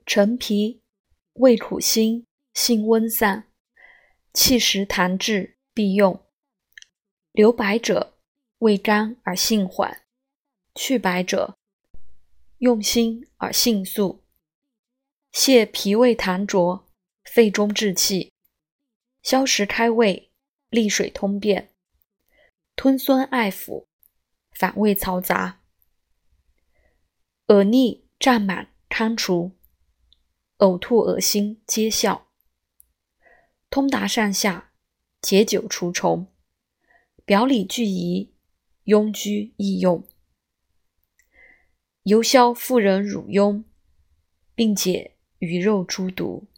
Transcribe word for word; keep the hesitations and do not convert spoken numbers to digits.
陈皮，味苦辛，性温散，气实痰滞，必用。留白者，味甘而性缓；去白者，用辛而性肃。泻脾胃痰浊，肺中滞气，消食开胃，利水通便，吞酸艾腐，反胃嘈杂。恶逆胀满堪除，呕吐恶心皆效。通达上下，解酒除虫，表里俱宜，痈疽易用。尤消妇人乳痈，并解鱼肉诸毒。